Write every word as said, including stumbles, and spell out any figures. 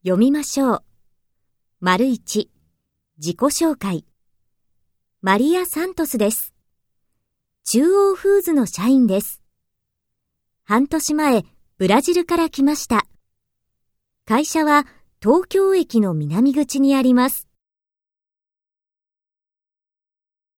読みましょう。丸一、自己紹介。マリア・サントスです。中央フーズの社員です。半年前、ブラジルから来ました。会社は東京駅の南口にあります。